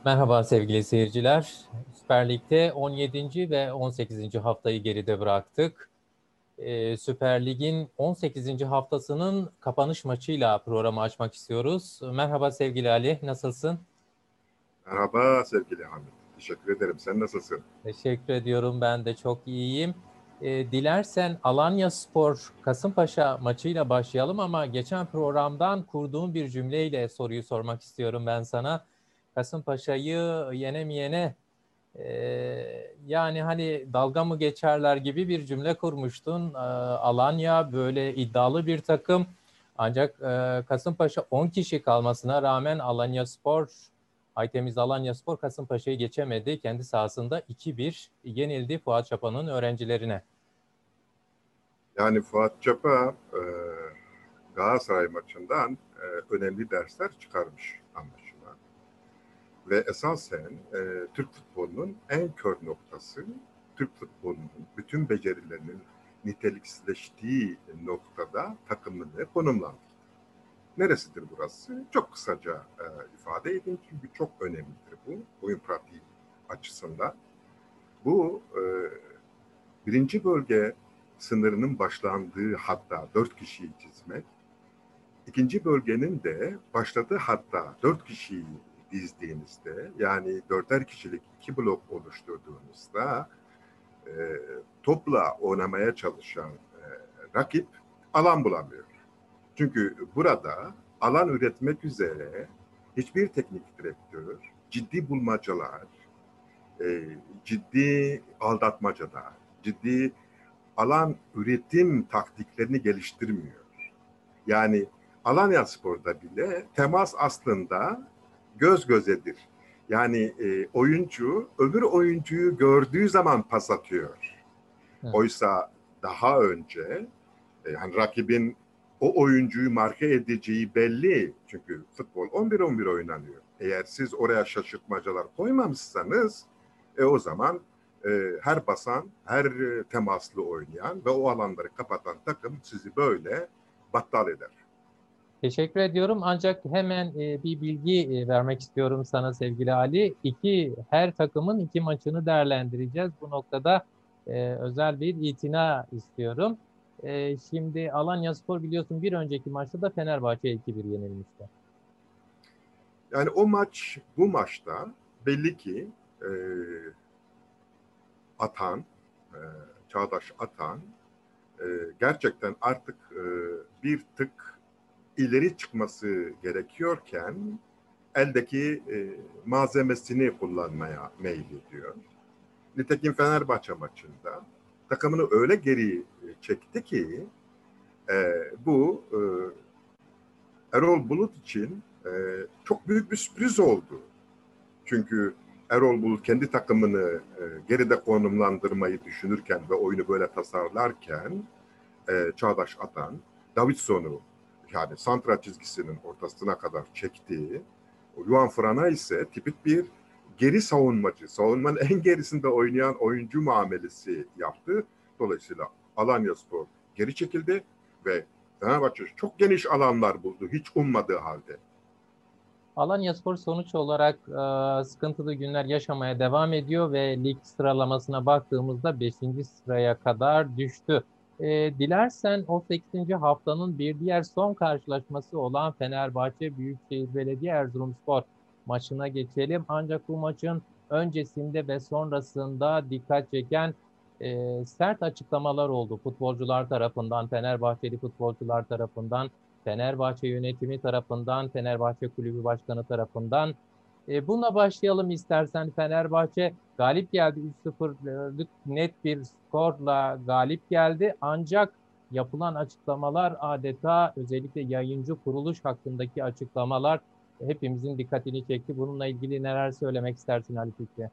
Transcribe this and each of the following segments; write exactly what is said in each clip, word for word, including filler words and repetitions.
Merhaba sevgili seyirciler. Süper Lig'de on yedinci ve on sekizinci haftayı geride bıraktık. Ee, Süper Lig'in on sekizinci haftasının kapanış maçıyla programı açmak istiyoruz. Merhaba sevgili Ali, nasılsın? Merhaba sevgili Hamit. Teşekkür ederim. Sen nasılsın? Teşekkür ediyorum, ben de çok iyiyim. Ee, dilersen Alanyaspor Kasımpaşa maçıyla başlayalım ama geçen programdan kurduğum bir cümleyle soruyu sormak istiyorum ben sana. Kasımpaşa'yı yenemeyene Ee, yani hani dalga mı geçerler gibi bir cümle kurmuştun. Ee, Alanya böyle iddialı bir takım. Ancak e, Kasımpaşa on kişi kalmasına rağmen Alanyaspor, Aytemiz Alanyaspor Kasımpaşa'yı geçemedi. Kendi sahasında iki bir yenildi Fuat Çapa'nın öğrencilerine. Yani Fuat Çapa e, Galatasaray maçından e, önemli dersler çıkarmış anlaşılan. Ve esasen e, Türk futbolunun en kör noktası, Türk futbolunun bütün becerilerinin niteliksizleştiği noktada takımını konumlandırdı. Neresidir burası? Çok kısaca e, ifade edeyim çünkü çok önemlidir bu oyun pratiği açısından. Bu e, birinci bölge sınırının başlandığı hatta dört kişiyi çizmek, ikinci bölgenin de başladığı hatta dört kişiyi dizdiğinizde, yani dörder kişilik iki blok oluşturduğunuzda e, topla oynamaya çalışan e, rakip alan bulamıyor. Çünkü burada alan üretmek üzere hiçbir teknik direktör ciddi bulmacalar, e, ciddi aldatmacalar, ciddi alan üretim taktiklerini geliştirmiyor. Yani Alanyaspor'da bile temas aslında göz gözedir. Yani e, oyuncu öbür oyuncuyu gördüğü zaman pas atıyor. Hı. Oysa daha önce e, yani rakibin o oyuncuyu marke edeceği belli. Çünkü futbol on bir on bir oynanıyor. Eğer siz oraya şaşırtmacalar koymamışsanız e, o zaman e, her basan, her e, temaslı oynayan ve o alanları kapatan takım sizi böyle battal eder. Teşekkür ediyorum. Ancak hemen e, bir bilgi e, vermek istiyorum sana sevgili Ali. İki, her takımın iki maçını değerlendireceğiz. Bu noktada e, özel bir itina istiyorum. E, şimdi Alanyaspor biliyorsun bir önceki maçta da Fenerbahçe'ye iki bir yenilmişti. Yani o maç, bu maçta belli ki e, Atan, e, Çağdaş Atan e, gerçekten artık e, bir tık ileri çıkması gerekiyorken eldeki e, malzemesini kullanmaya meylediyor. Nitekim Fenerbahçe maçında takımını öyle geri çekti ki e, bu e, Erol Bulut için e, çok büyük bir sürpriz oldu. Çünkü Erol Bulut kendi takımını e, geride konumlandırmayı düşünürken ve oyunu böyle tasarlarken e, Çağdaş Atan, Davidson'u yani santra çizgisinin ortasına kadar çektiği, Juan Frana ise tipik bir geri savunmacı, savunmanın en gerisinde oynayan oyuncu muamelesi yaptı. Dolayısıyla Alanyaspor geri çekildi ve Fenerbahçe çok geniş alanlar buldu hiç ummadığı halde. Alanyaspor sonuç olarak e, sıkıntılı günler yaşamaya devam ediyor ve lig sıralamasına baktığımızda beşinci sıraya kadar düştü. E, dilersen on sekizinci haftanın bir diğer son karşılaşması olan Fenerbahçe Büyükşehir Belediye Erzurumspor maçına geçelim. Ancak bu maçın öncesinde ve sonrasında dikkat çeken e, sert açıklamalar oldu futbolcular tarafından, Fenerbahçeli futbolcular tarafından. Fenerbahçe yönetimi tarafından, Fenerbahçe Kulübü Başkanı tarafından. E, bununla başlayalım istersen. Fenerbahçe galip geldi. üç sıfırlık net bir skorla galip geldi. Ancak yapılan açıklamalar adeta özellikle yayıncı kuruluş hakkındaki açıklamalar hepimizin dikkatini çekti. Bununla ilgili neler söylemek istersin Ali Fikri?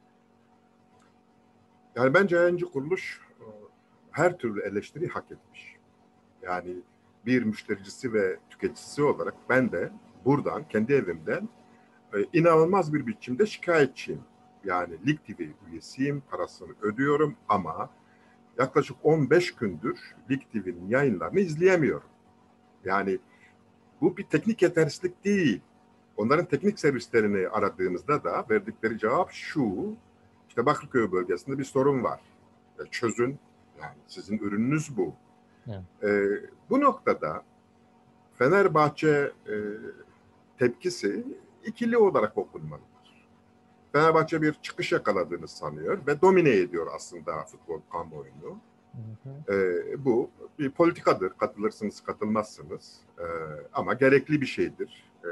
Yani bence yayıncı kuruluş e, her türlü eleştiri hak etmiş. Yani bir müştericisi ve tüketicisi olarak ben de buradan kendi evimden e, inanılmaz bir biçimde şikayetçiyim. Yani Lig T V üyesiyim, parasını ödüyorum ama yaklaşık on beş gündür Lig T V'nin yayınlarını izleyemiyorum. Yani bu bir teknik yetersizlik değil. Onların teknik servislerini aradığımızda da verdikleri cevap şu: işte Bakırköy bölgesinde bir sorun var. E, çözün, yani sizin ürününüz bu. Evet. E, bu noktada Fenerbahçe e, tepkisi ikili olarak okunmalıdır. Fenerbahçe bir çıkış yakaladığını sanıyor ve domine ediyor aslında futbol kamuoyunu. Hı hı. E, bu bir politikadır. Katılırsınız, katılmazsınız. E, ama gerekli bir şeydir. E,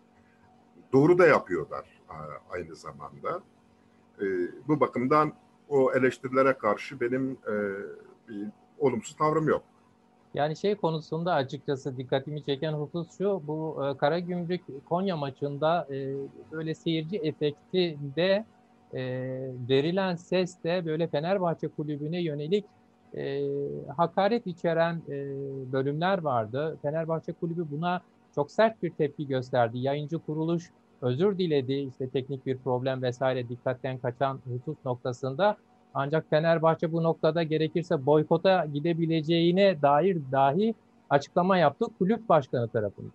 doğru da yapıyorlar a, aynı zamanda. E, bu bakımdan o eleştirilere karşı benim e, bir olumsuz tavrım yok. Yani şey konusunda açıkçası dikkatimi çeken husus şu, bu e, Karagümrük Konya maçında e, böyle seyirci efekti de e, verilen ses de böyle Fenerbahçe kulübüne yönelik e, hakaret içeren e, bölümler vardı. Fenerbahçe kulübü buna çok sert bir tepki gösterdi. Yayıncı kuruluş özür diledi, işte teknik bir problem vesaire dikkatten kaçan husus noktasında. Ancak Fenerbahçe bu noktada gerekirse boykota gidebileceğine dair dahi açıklama yaptı kulüp başkanı tarafından.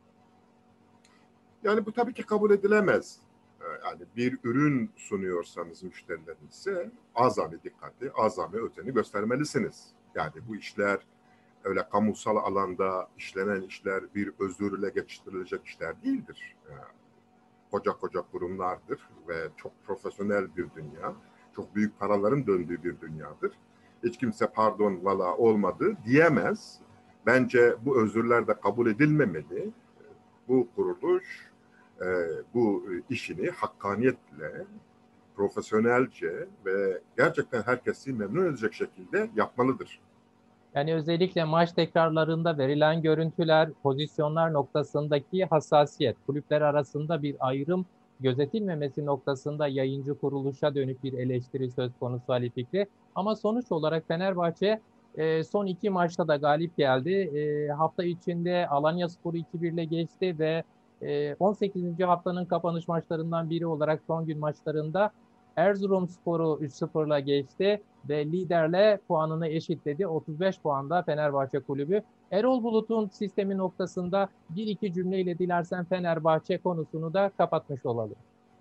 Yani bu tabii ki kabul edilemez. Ee, Yani bir ürün sunuyorsanız müşterilerinize azami dikkati, azami özeni göstermelisiniz. Yani bu işler öyle kamusal alanda işlenen işler bir özürle geçiştirilecek işler değildir. Yani koca koca kurumlardır ve çok profesyonel bir dünya. Çok büyük paraların döndüğü bir dünyadır. Hiç kimse pardon valla olmadı diyemez. Bence bu özürler de kabul edilmemeli. Bu kuruluş e, bu işini hakkaniyetle, profesyonelce ve gerçekten herkesi memnun edecek şekilde yapmalıdır. Yani özellikle maç tekrarlarında verilen görüntüler, pozisyonlar noktasındaki hassasiyet, kulüpler arasında bir ayrım gözetilmemesi noktasında yayıncı kuruluşa dönük bir eleştiri söz konusu Ali Fikri. Ama sonuç olarak Fenerbahçe e, son iki maçta da galip geldi. E, hafta içinde Alanyaspor'u iki bir ile geçti ve e, on sekizinci haftanın kapanış maçlarından biri olarak son gün maçlarında Erzurumspor'u üç sıfırla geçti ve liderle puanını eşitledi. otuz beş puanda Fenerbahçe kulübü. Erol Bulut'un sistemi noktasında bir iki cümleyle dilersen Fenerbahçe konusunu da kapatmış olalım.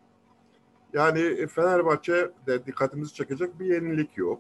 Yani Fenerbahçe'de dikkatimizi çekecek bir yenilik yok.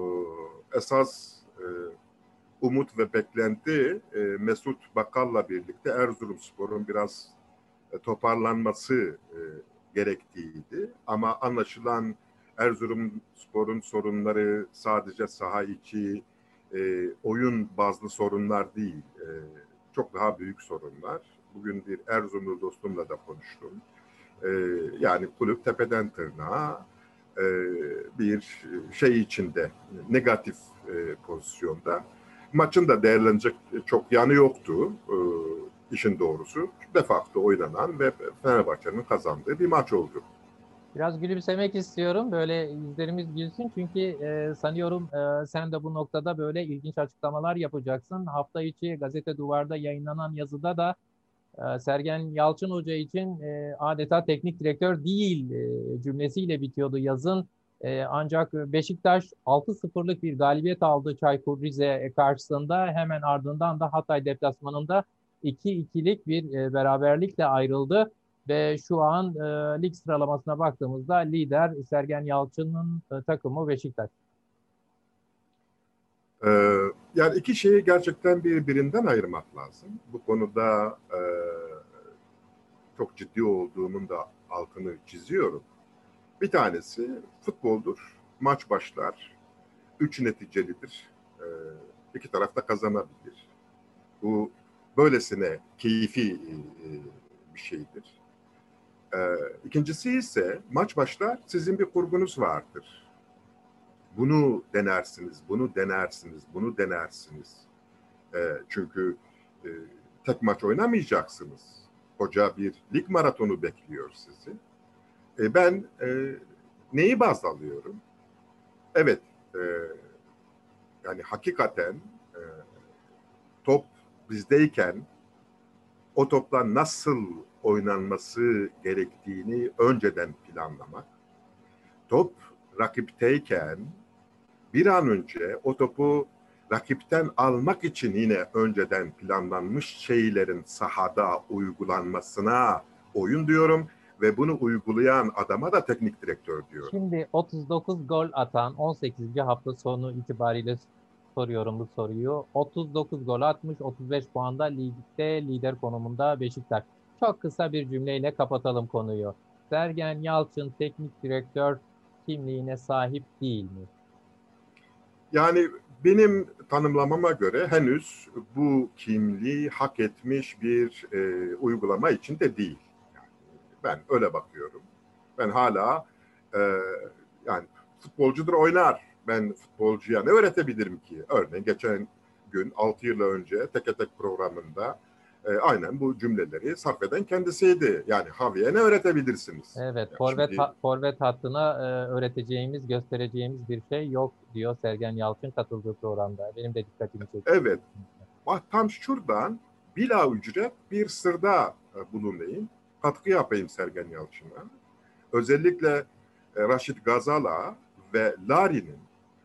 Esas e, umut ve beklenti e, Mesut Bakal'la birlikte Erzurumspor'un biraz e, toparlanması e, gerektiğiydi. Ama anlaşılan Erzurumspor'un sorunları sadece saha içi e, oyun bazlı sorunlar değil. E, çok daha büyük sorunlar. Bugün bir Erzurumlu dostumla da konuştum. E, yani kulüp tepeden tırnağa e, bir şey içinde, negatif e, pozisyonda. Maçın da değerlenecek çok yanı yoktu. E, işin doğrusu. De facto oynanan ve Fenerbahçe'nin kazandığı bir maç oldu. Biraz gülümsemek istiyorum. Böyle yüzlerimiz gülsün. Çünkü e, sanıyorum e, sen de bu noktada böyle ilginç açıklamalar yapacaksın. Hafta içi Gazete Duvar'da yayınlanan yazıda da e, Sergen Yalçın Hoca için e, adeta teknik direktör değil e, cümlesiyle bitiyordu yazın. E, ancak Beşiktaş altı sıfırlık bir galibiyet aldı Çaykur Rize karşısında. Hemen ardından da Hatay deplasmanında iki ikilik bir e, beraberlikle ayrıldı. Ve şu an e, lig sıralamasına baktığımızda lider Sergen Yalçın'ın e, takımı Beşiktaş. Ee, yani iki şeyi gerçekten birbirinden ayırmak lazım. Bu konuda e, çok ciddi olduğumun da altını çiziyorum. Bir tanesi futboldur. Maç başlar. Üç neticelidir. Ee, iki taraf da kazanabilir. Bu böylesine keyfi e, bir şeydir. Ee, ikincisi ise maç başlar, sizin bir kurgunuz vardır. Bunu denersiniz, bunu denersiniz, bunu denersiniz. Ee, çünkü e, tek maç oynamayacaksınız. Koca bir lig maratonu bekliyor sizi. E, ben e, neyi baz alıyorum? Evet, e, yani hakikaten e, top bizdeyken o topla nasıl oynanması gerektiğini önceden planlamak. Top rakipteyken bir an önce o topu rakipten almak için yine önceden planlanmış şeylerin sahada uygulanmasına oyun diyorum ve bunu uygulayan adama da teknik direktör diyorum. Şimdi otuz dokuz gol atan on sekizinci hafta sonu itibariyle soruyorum bu soruyu. otuz dokuz gol atmış, otuz beş puanda ligde lider konumunda Beşiktaş. Çok kısa bir cümleyle kapatalım konuyu. Sergen Yalçın teknik direktör kimliğine sahip değil mi? Yani benim tanımlamama göre henüz bu kimliği hak etmiş bir e, uygulama içinde değil. Yani ben öyle bakıyorum. Ben hala e, yani futbolcudur oynar. Ben futbolcuya ne öğretebilirim ki? Örneğin geçen gün altı yıl önce Teke Tek programında e, aynen bu cümleleri sarf eden kendisiydi. Yani Javi'ye ne öğretebilirsiniz? Evet, Yani forvet, şimdi ha- forvet hattına e, öğreteceğimiz, göstereceğimiz bir şey yok diyor Sergen Yalçın katıldığı programda. Benim de dikkatimi çekti. evet, tam şuradan bila ücret bir sırda e, bulunayım. Katkı yapayım Sergen Yalçın'a. Özellikle e, Raşit Gazala ve Lari'nin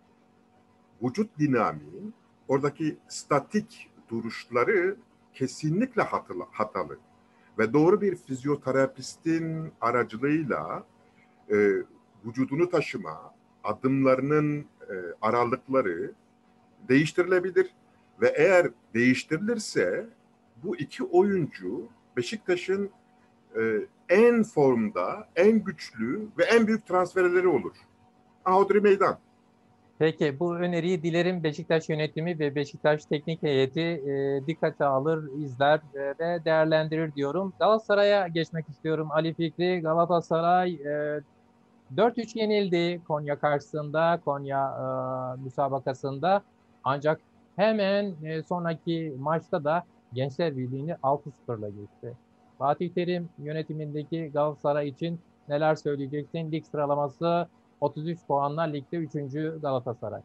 vücut dinamiği, oradaki statik duruşları kesinlikle hatalı, hatalı. Ve doğru bir fizyoterapistin aracılığıyla e, vücudunu taşıma, adımlarının e, aralıkları değiştirilebilir. Ve eğer değiştirilirse bu iki oyuncu Beşiktaş'ın e, en formda, en güçlü ve en büyük transferleri olur. Hodri meydan. Peki bu öneriyi dilerim Beşiktaş yönetimi ve Beşiktaş teknik heyeti e, dikkate alır, izler e, ve değerlendirir diyorum. Galatasaray'a geçmek istiyorum. Ali Fikri, Galatasaray e, dört üç yenildi Konya karşısında, Konya e, müsabakasında. Ancak hemen e, sonraki maçta da Gençler Birliği'ni altı sıfırla geçti. Fatih Terim yönetimindeki Galatasaray için neler söyleyeceksin? Lig sıralaması otuz üç puanla ligde üçüncü Galatasaray.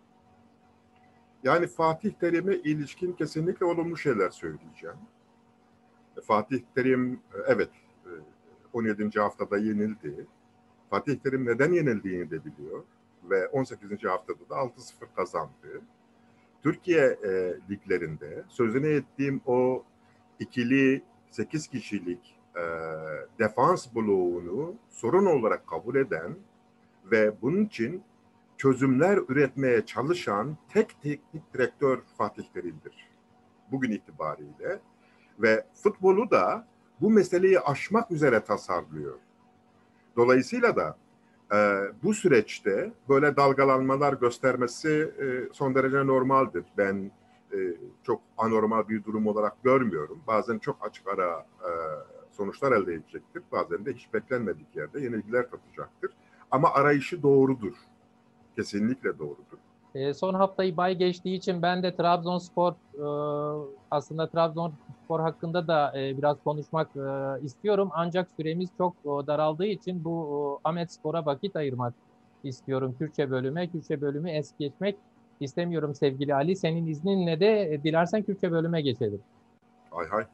Yani Fatih Terim'e ilişkin kesinlikle olumlu şeyler söyleyeceğim. Fatih Terim evet on yedinci haftada yenildi. Fatih Terim neden yenildiğini de biliyor ve on sekizinci haftada da altı sıfır kazandı. Türkiye e, liglerinde sözüne ettiğim o ikili sekiz kişilik e, defans bloğunu sorun olarak kabul eden ve bunun için çözümler üretmeye çalışan tek teknik direktör Fatih Terim'dir. Bugün itibariyle ve futbolu da bu meseleyi aşmak üzere tasarlıyor. Dolayısıyla da e, bu süreçte böyle dalgalanmalar göstermesi e, son derece normaldir. Ben e, çok anormal bir durum olarak görmüyorum. Bazen çok açık ara e, sonuçlar elde edecektir. Bazen de hiç beklenmedik yerde yenilgiler tatacaktır. Ama arayışı doğrudur. Kesinlikle doğrudur. E, son haftayı bay geçtiği için ben de Trabzonspor e, aslında Trabzonspor hakkında da e, biraz konuşmak e, istiyorum. Ancak süremiz çok e, daraldığı için bu e, Ahmetspor'a vakit ayırmak istiyorum Kürtçe bölüme. Kürtçe bölümü es geçmek istemiyorum sevgili Ali. Senin izninle de e, dilersen Kürtçe bölüme geçelim. Hay hay.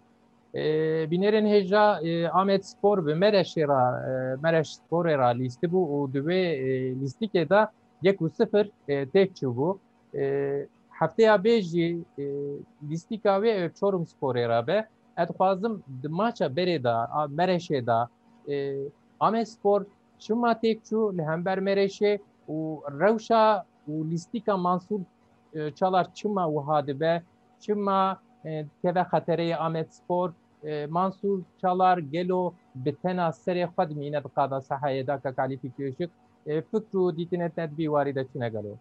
بنرن هجا آمد سپور به مرش را مرش سپور را لیستی بو و دوی لیستی که دا یک و صفر تک چو بو هفته یا بیجی لیستی که وی چورم سپور را به ادخوازم دماچا بره دا مرش دا آمد سپور شما تک چو لهمبر مرشه و روشا و لیستی که منصور çalar çıma u hadibe çıma teve xatere Ahmet Spor Mansur Çalar Gelo bitena seri xad mine qada sahaya da ka kalifikiyişik fikru ditinet nedbi varide çine galo.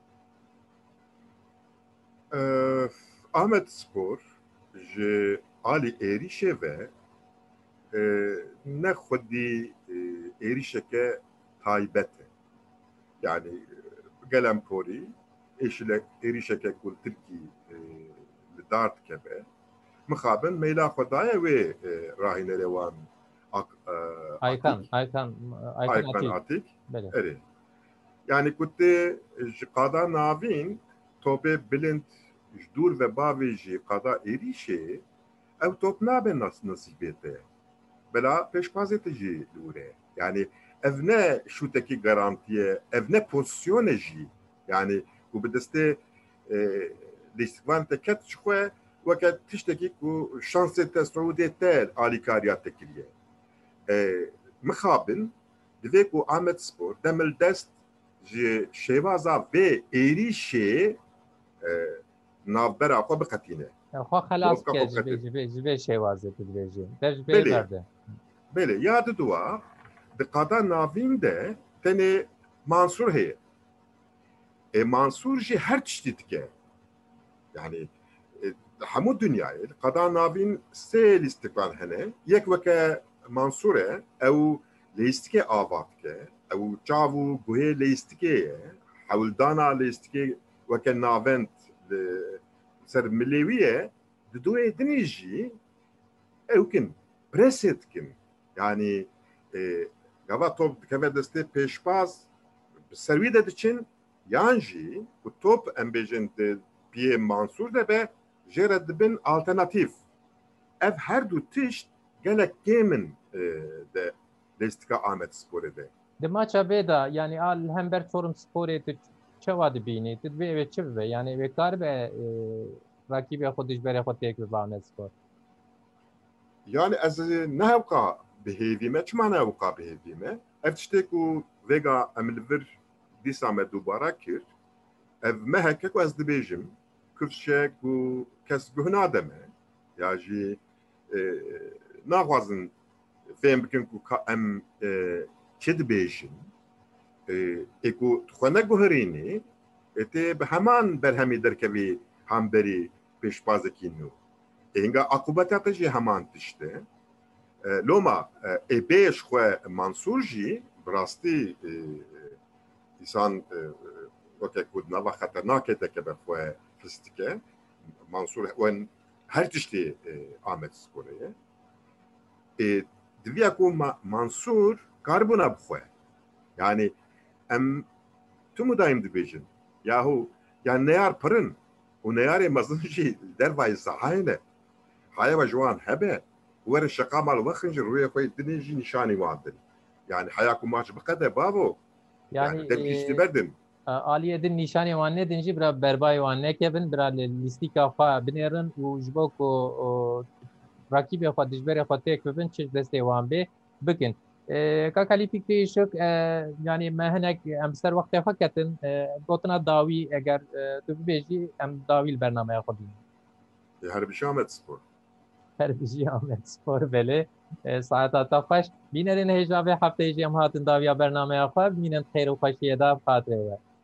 Ee, Ahmet Spor ji alî êrişê ve e, ne xwedî e, êrişeke taybet e. Yani gelem porî êşile êrişeke ku Tirkî li dart keve mixabin meyla xwe daye wê rahînerê wan Aykan, Aykan, Aykan Aykan Atik. Atik Bele. erê. Yani ku tê ji qada navîn topê bilind ji dûr ve bavê jî qada êrişê ew top nabe nasîbê te. Bela pêşbazê te jî li wî. Yani ev ne şûtekî garantiye, ev ne pozisyone jî. Yani ku bi destê lîstikvan te ket ji xwe weke tiştekî ku şansê te Suudê te alîkariya te kiriye. مخابن دوی کو آمد سپور دمل دست جی شیوازا و ایریشی نابرا خو بقتینه خو خلاص که جبه جبه جبه شوازه تدریجی در جبه بله برده بله یاد دوا دقادا ناوین ده تنه منصور هی e, Mansur jî her tiştî dike yani e, hemû dünyayê qeda navîn sê lîstiklan hene yek weke Mansur e ew lîstikê ava dike ew çav û guhê lîstikê ye hewildana lîstikê weke navend li ser milê wî ye di duyê dinê jî ew kin presê dikin yani e, gava top dikeve destê pêşbaz ser wî de diçin yan jî ku top em bêjin di piyê Mansur de be jê re dibin alternatîv ev her du tişt gelek kêmin de lêstika Amedsporê de di maça bê da yani al hember Çorumsporê tu çawa dibînî tu divê ev çi bibe yani ev kar be rakîbê xwe dijberê xwe têk bibe Amedspor yani ez nehewqa bihêvîme çima nehewqa bihêvîme ev tiştê ku vêga em li vir dîsa me dubara kir ev me heke ku ez dibêjim kifşe ku kes guh nademe ya jî naxwazin fêm bikin ku em çi dibêjin ê ku xwe neguherînî tê bi heman berhemî derkevî hemberî pêşbazekî nû ênga akûbeta te jî heman tişt e loma ê bêj xwe Mansur jî bi rastî İnsan weke ku nava xeternakê dikeve xwe fistike Mansur wen her tiştê Amedsporê ye ê diviya ku Mansur karbûna bi xwe yani em tu mudayim dibêjin yahu yani neyar pirin û neyarê mezin jî dervayê sahayê ne hayeva ji wan hebe were şeqa mal wexin ji rûyê xwe dinê jî nîşanî wan din yani heya ku maç biqede bavo yani derkişti verdim. Aliyedin nişanê wan nedin jî bira berbayê wan nekevin bira lîstika xwe binêrin û ji bo ku rakîbê xwe dijberê xwe têk bibin çi destê wan bê bikin. Kaka Lîpîk şik yani me hinek em ser wextê xwe ketin gotina dawî eger tu bibêjî em dawî li bernameya xwe bînin. Her bijî Amedspor. Her bijî Amedspor belê saeta te xweş bînerên hêja vê hefteyê jî em hatin dawiya bernameya xwe bînin xêr û xweşiyê da xatirê we.